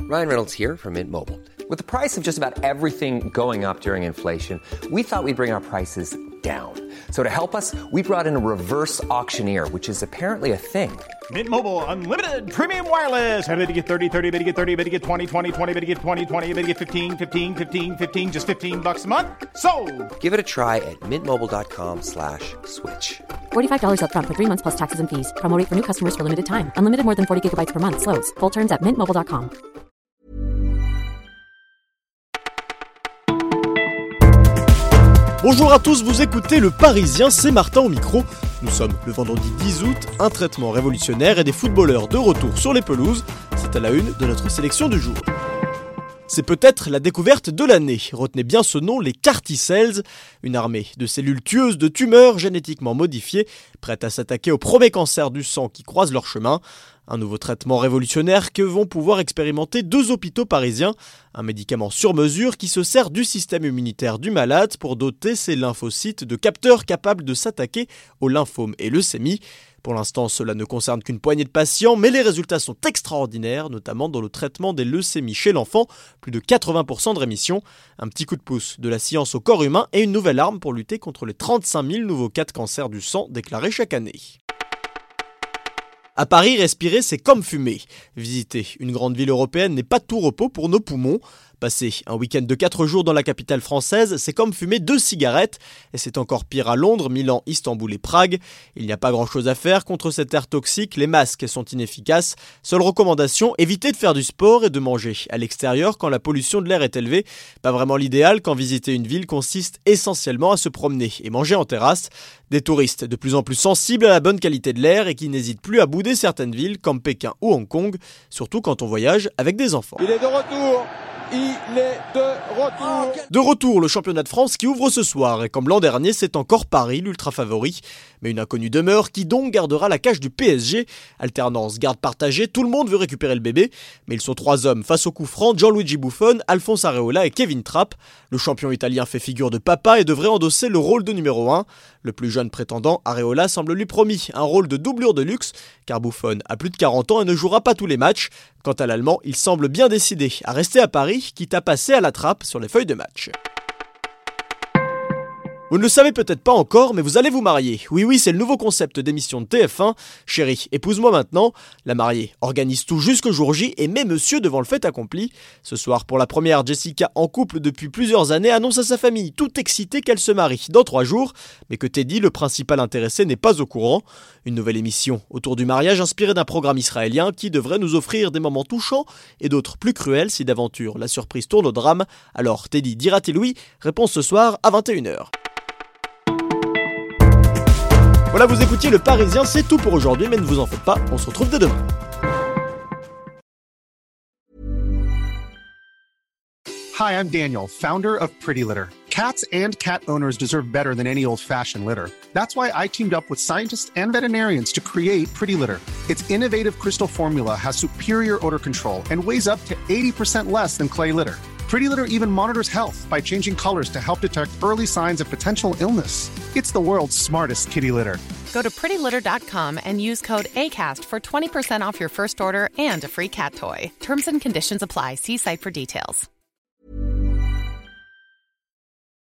Ryan Reynolds here from Mint Mobile. With the price of just about everything going up during inflation, we thought we'd bring our prices down. So to help us, we brought in a reverse auctioneer, which is apparently a thing. Mint Mobile Unlimited Premium Wireless. How to get 30, 30, bit to get 30, bit to get 20, 20, 20, bit to get 20, 20, bit to get 15, 15, 15, 15, just $15 a month? Sold! Give it a try at mintmobile.com/switch. $45 up front for 3 months plus taxes and fees. Promo rate for new customers for limited time. Unlimited more than 40 gigabytes per month. Slows full terms at mintmobile.com. Bonjour à tous, vous écoutez Le Parisien, c'est Martin au micro. Nous sommes le vendredi 10 août, un traitement révolutionnaire et des footballeurs de retour sur les pelouses. C'est à la une de notre sélection du jour. C'est peut-être la découverte de l'année. Retenez bien ce nom, les CAR-T cells, une armée de cellules tueuses de tumeurs génétiquement modifiées, prêtes à s'attaquer aux premiers cancers du sang qui croisent leur chemin. Un nouveau traitement révolutionnaire que vont pouvoir expérimenter 2 hôpitaux parisiens. Un médicament sur mesure qui se sert du système immunitaire du malade pour doter ses lymphocytes de capteurs capables de s'attaquer aux lymphomes et leucémies. Pour l'instant, cela ne concerne qu'une poignée de patients, mais les résultats sont extraordinaires, notamment dans le traitement des leucémies chez l'enfant, plus de 80% de rémission. Un petit coup de pouce de la science au corps humain et une nouvelle arme pour lutter contre les 35 000 nouveaux cas de cancer du sang déclarés chaque année. À Paris, respirer, c'est comme fumer. Visiter une grande ville européenne n'est pas tout repos pour nos poumons. Passer un week-end de 4 jours dans la capitale française, c'est comme fumer 2 cigarettes. Et c'est encore pire à Londres, Milan, Istanbul et Prague. Il n'y a pas grand-chose à faire contre cet air toxique, les masques sont inefficaces. Seule recommandation, évitez de faire du sport et de manger à l'extérieur quand la pollution de l'air est élevée. Pas vraiment l'idéal quand visiter une ville consiste essentiellement à se promener et manger en terrasse. Des touristes de plus en plus sensibles à la bonne qualité de l'air et qui n'hésitent plus à bouder certaines villes comme Pékin ou Hong Kong, surtout quand on voyage avec des enfants. Il est de retour. Il est de retour. De retour, le championnat de France qui ouvre ce soir. Et comme l'an dernier, c'est encore Paris, l'ultra favori. Mais une inconnue demeure qui donc gardera la cage du PSG. Alternance, garde partagée, tout le monde veut récupérer le bébé. Mais ils sont 3 hommes face au coup franc, Gianluigi Buffon, Alphonse Areola et Kevin Trapp. Le champion italien fait figure de papa et devrait endosser le rôle de numéro 1. Le plus jeune prétendant, Areola, semble lui promis un rôle de doublure de luxe, car Buffon a plus de 40 ans et ne jouera pas tous les matchs. Quant à l'Allemand, il semble bien décidé à rester à Paris, quitte à passer à la trappe sur les feuilles de match. Vous ne le savez peut-être pas encore, mais vous allez vous marier. Oui, c'est le nouveau concept d'émission de TF1. Chérie, épouse-moi maintenant. La mariée organise tout jusqu'au jour J et met monsieur devant le fait accompli. Ce soir, pour la première, Jessica, en couple depuis plusieurs années, annonce à sa famille, tout excitée, qu'elle se marie dans 3 jours. Mais que Teddy, le principal intéressé, n'est pas au courant. Une nouvelle émission autour du mariage inspirée d'un programme israélien qui devrait nous offrir des moments touchants et d'autres plus cruels si d'aventure la surprise tourne au drame. Alors Teddy dira-t-il oui? Réponse ce soir à 21h. Voilà, vous écoutiez Le Parisien, c'est tout pour aujourd'hui, mais ne vous en faites pas, on se retrouve dès demain. Hi, I'm Daniel, founder of Pretty Litter. Cats and cat owners deserve better than any old-fashioned litter. That's why I teamed up with scientists and veterinarians to create Pretty Litter. Its innovative crystal formula has superior odor control and weighs up to 80% less than clay litter. Pretty Litter even monitors health by changing colors to help detect early signs of potential illness. It's the world's smartest kitty litter. Go to prettylitter.com and use code ACAST for 20% off your first order and a free cat toy. Terms and conditions apply. See site for details.